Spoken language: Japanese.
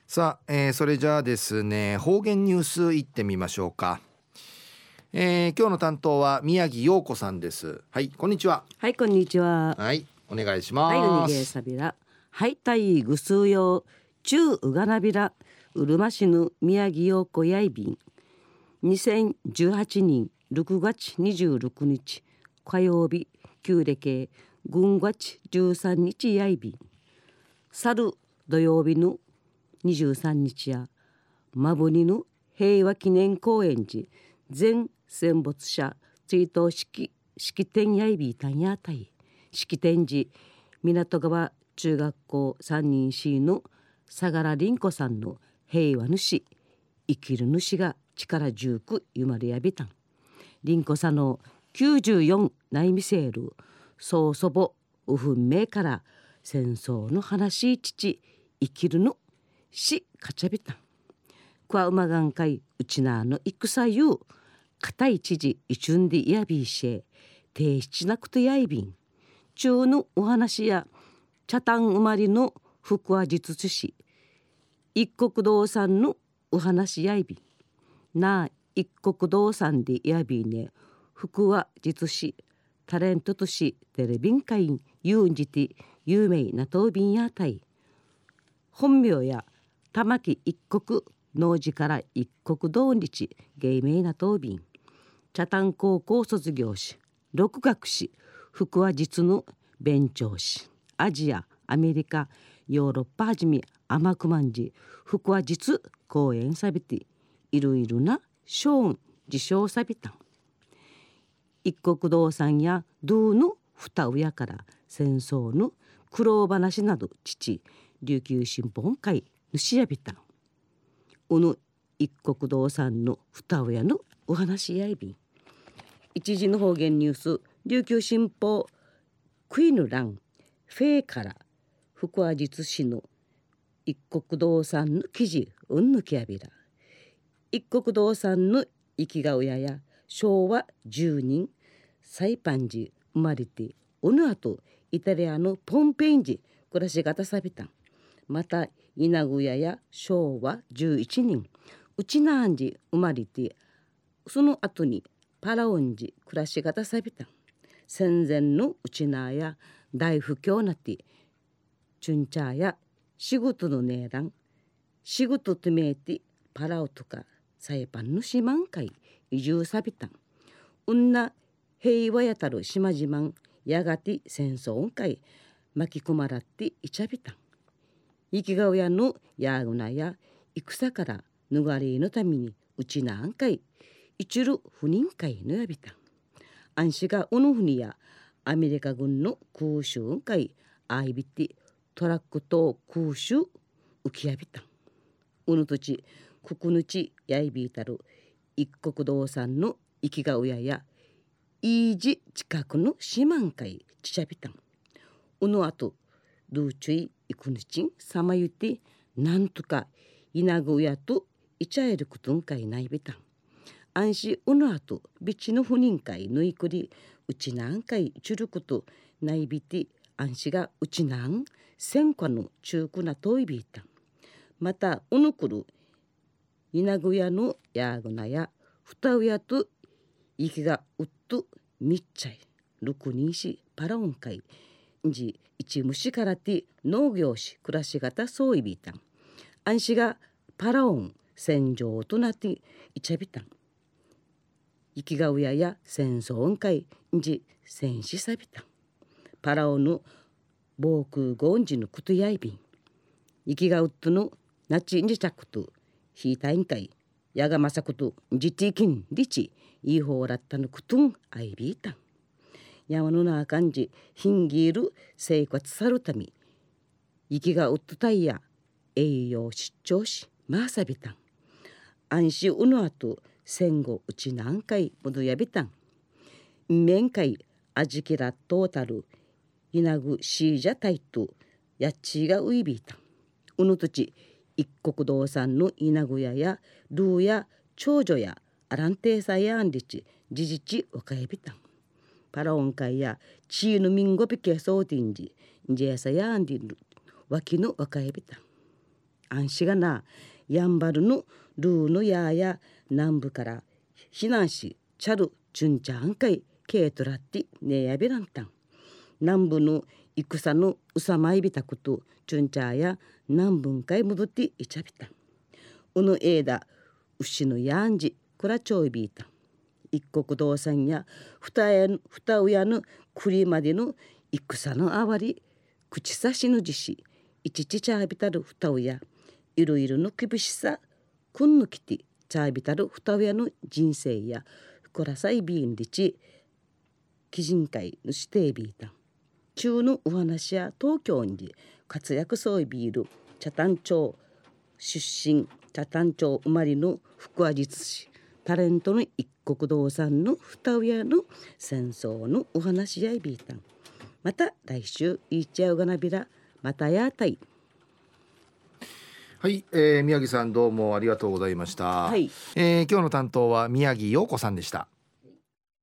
さあ、それじゃあですね、方言ニュースいってみましょうか。今日の担当は宮城陽子さんです。はい、こんにちは。 はい、こんにちは。 はい、お願いしはい、うにます。 げさびら。はい、たいぐすうよう。ちゅううがなびら。うるま市の宮城陽子やいびん。2018年6月26日火曜日、旧暦軍月13日やいびん。去る土曜日の23日やまぶにの平和記念公園寺全戦没者追悼式典やいびいたんやたい。式典時港川中学校3人 C の相良凛子さんの平和主生きる主が力十くゆまれやびたん。凛子さんの94内見せる曽祖母うふんめから戦争の話父生きるのしかちゃびたん。くわうまがんかいうちなの戦ゆう固い知事いちゅんでやびいしえ提出なくてやいびん。中のお話や茶炭生まれの福は実し一国道産のお話やいびんな一国道産でやびね福は実しタレントとしテレビン会員ユンジティ有名なとびんやたい本名や玉木一国農事から一国道日芸名なとびん茶炭高校卒業し六学士福は実の勉強しアジアアメリカヨーロッパはじめ甘くまんじ福は実講演さびていろいろな賞受賞さびたん。一国道産や道の二親から戦争の苦労話など父琉球新報会主やびたん。うぬ一国道産の二親のお話やいびん。一時の方言ニュース琉球新報クイヌランフェーから福和実施の一国道産の記事うんぬきやびら一国道産の生きがうやや昭和10人サイパンジ生まれておぬあとイタリアのポンペインジ暮らし方さびたん。また稲具屋や昭和11人うちなんじ生まれてその後にパラオンジ暮らし方さびたん。戦前のうちなや大不況なってチュンチャーや仕事の値段仕事とめいてパラオとかサイパンの島んかい移住さびたん。うんな平和やたる島々んやがて戦争んかい巻き込まらっていちゃびたん。生きがうやのやぐなや戦から逃れのためにうちなんかい一る不人会のやびたん。安心がおのふにやアメリカ軍の空襲会あいびてトラックと空襲浮きやびたん。うぬとちくくぬちやいびいたる一国道産の生きがうややいいじ近くの島ん会ちちゃびたん。うぬあとどうちゅいいくぬちんさまゆてなんとかいなぐやといちゃえることんかいないびたん。安心うぬあとびちの不人会ぬいくりうちなんかいちゅることないびて安心がうちなん戦火の中古なといびいたん。またうぬくるいなぐやのやぐなやふたうやといきがうっとみっちゃいるくにしパラオン会じ一虫からて農業し暮らし方そういびいたん。安心がパラオン戦場となっていちゃびたん。生きがうやや戦争んかいじ戦死さびたん。パラオの防空ゴンジのことやいびん。生きがうっとのなちんじちゃくとひいたいんかいやがまさことじていきんりちいいほうらったのことんあいびいたん。山のなあかんじひんぎる生活さるため生きがうっとたいや栄養失調しまさびたん。安心うのあと戦後うちなんかいもどやびたん。面会あじきらトータルいなぐしーじゃたいとやっちがういびいたん。うぬとち一国道産のいなぐややルーや長女やアランテーサやんりちじじちわかやびたん。パラオン会やチーヌミンゴピケソーティンジジェサやんりるわきのわかやびたん。 安心がなやんばるのルーのやや南部から避難しチャルチュンチャンカイケートラッティネヤビランタン南部の戦のうさまいびたことチュンチャーや南分かい戻っていちゃびたうぬえだ牛のやんじくらちょいびいた一国道産や二親の栗までの戦のあわり口差しのじしいちちちゃびたる二親いろいろの厳しさくんぬきてちゃびたる二親の人生やこらさいびんりち基人会の指定ビータン中のお話や東京に活躍そういビール茶谷町出身茶谷町生まれの福和実師タレントの一国道産の二親の戦争のお話やいビータンまた来週いっちゃうがなびらまたやたいはい、宮城さんどうもありがとうございました、 はい、 今日の担当は宮城陽子さんでした。